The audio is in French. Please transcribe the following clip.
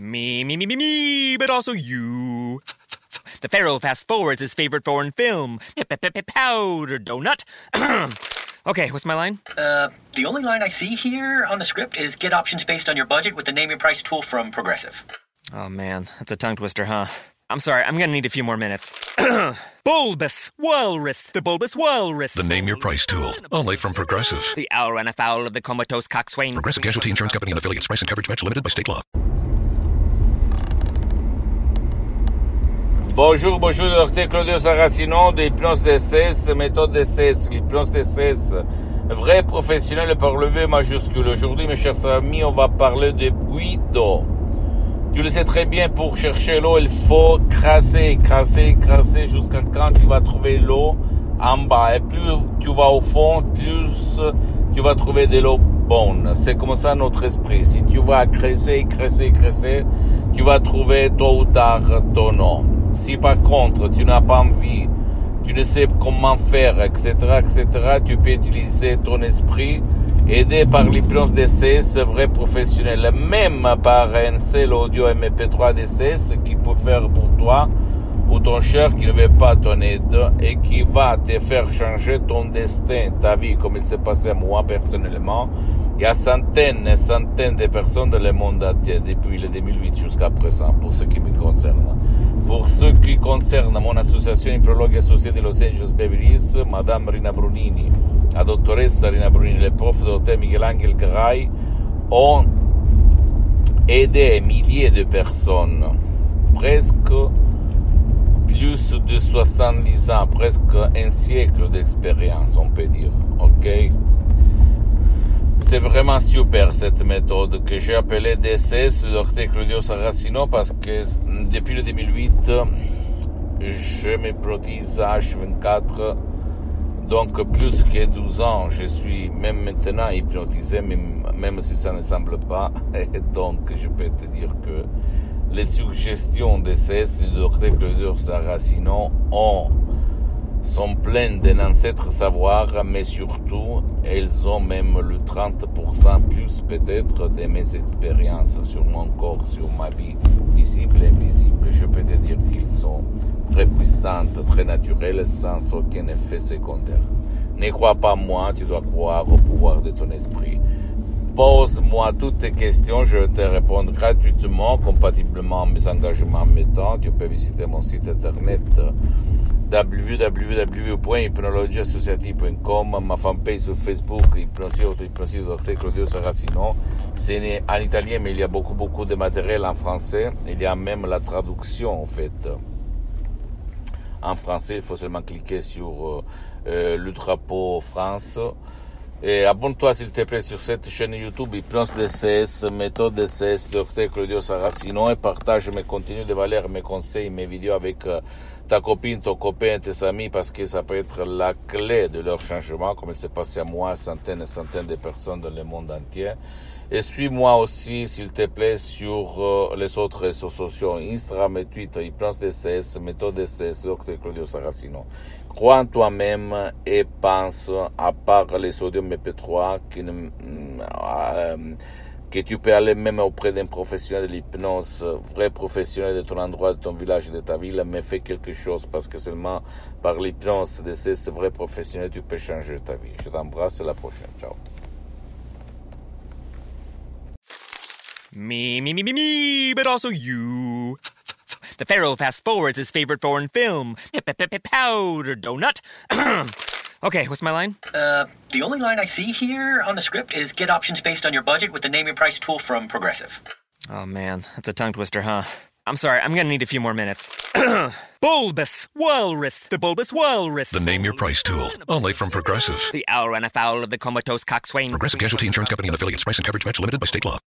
Me, but also you. The Pharaoh fast forwards his favorite foreign film, Powder Donut. Okay, what's my line? The only line I see here on the script is get options based on your budget with the Name Your Price tool from Progressive. Oh man, that's a tongue twister, huh? I'm sorry, I'm gonna need a few more minutes. Bulbous Walrus, the Bulbous Walrus. The Name Your Price tool, only from Progressive. The owl ran afoul of the comatose coxswain. Progressive Casualty Insurance Company and affiliates. Price and coverage match limited by state law. Bonjour, Dr. Claudio Saracino de Hypnose DCS, méthode DCS, l'hypnose DCS, vrai professionnel par le V majuscule. Aujourd'hui, mes chers amis, on va parler de puits d'eau. Tu le sais très bien, pour chercher l'eau, il faut crasser jusqu'à quand tu vas trouver l'eau en bas. Et plus tu vas au fond, plus tu vas trouver de l'eau bonne. C'est comme ça notre esprit. Si tu vas creuser, tu vas trouver tôt ou tard ton eau. Si par contre tu n'as pas envie, tu ne sais comment faire, etc., tu peux utiliser ton esprit, aidé par l'hypnose DCS, vrai professionnel, même par un seul audio MP3 DCS qui peut faire pour toi ou ton cher qui ne veut pas ton aide et qui va te faire changer ton destin, ta vie, comme il s'est passé à moi personnellement. Il y a centaines et centaines de personnes dans le monde entier depuis le 2008 jusqu'à présent, pour ce qui me concerne. Pour ce qui concerne mon association Hypnologue associée de Los Angeles Beverly Hills, Madame Rina Brunini, la dottoressa Rina Brunini, le prof Dr. Miguel Angel Garay ont aidé milliers de personnes, presque plus de 70 ans, presque un siècle d'expérience, on peut dire, ok? C'est vraiment super cette méthode que j'ai appelée DCS, le Dr. Claudio Saracino, parce que depuis le 2008, je m'hypnotise H24, donc plus que 12 ans, je suis même maintenant hypnotisé, même si ça ne semble pas, et donc je peux te dire que les suggestions DCS du Dr. Claudio Saracino sont pleines d'un ancêtre savoir, mais surtout, elles ont même le 30% plus peut-être de mes expériences sur mon corps, sur ma vie, visible et invisible. Je peux te dire qu'ils sont très puissantes, très naturelles, sans aucun effet secondaire. Ne crois pas moi, tu dois croire au pouvoir de ton esprit. Pose-moi toutes tes questions, je vais te répondre gratuitement, compatiblement à mes engagements en même temps. Tu peux visiter mon site internet www.hypnologieassociative.com, ma fanpage sur Facebook, Hypnosie Dr. Claudio Saracino. C'est en italien, mais il y a beaucoup de matériel en français. Il y a même la traduction, en fait. En français, il faut seulement cliquer sur le drapeau France. Et abonne-toi, s'il te plaît, sur cette chaîne YouTube, Hypnose DCS, méthode DCS, Dr. Claudio Saracino, et partage mes contenus de valeur, mes conseils, mes vidéos avec ta copine, ton copain, tes amis, parce que ça peut être la clé de leur changement, comme il s'est passé à moi, centaines et centaines de personnes dans le monde entier. Et suis-moi aussi, s'il te plaît, sur les autres réseaux sociaux, Instagram et Twitter, Hypnose DCS, méthode DCS, Dr. Claudio Saracino. Crois en toi-même et pense, à part les sodium MP3, que tu peux aller même auprès d'un professionnel de l'hypnose, vrai professionnel de ton endroit, de ton village, de ta ville, mais fais quelque chose, parce que seulement par l'hypnose de ces vrais professionnels, tu peux changer ta vie. Je t'embrasse, à la prochaine. Ciao. Me, but also you. The Pharaoh fast forwards his favorite foreign film, Powder Donut. Okay, what's my line? The only line I see here on the script is get options based on your budget with the Name Your Price tool from Progressive. Oh man, that's a tongue twister, huh? I'm sorry, I'm gonna need a few more minutes. Bulbous Walrus, the Bulbous Walrus. The Name Your Price tool, only from Progressive. The owl ran afoul of the comatose coxswain. Progressive Casualty Insurance Company and affiliates. Price and coverage match limited by state law.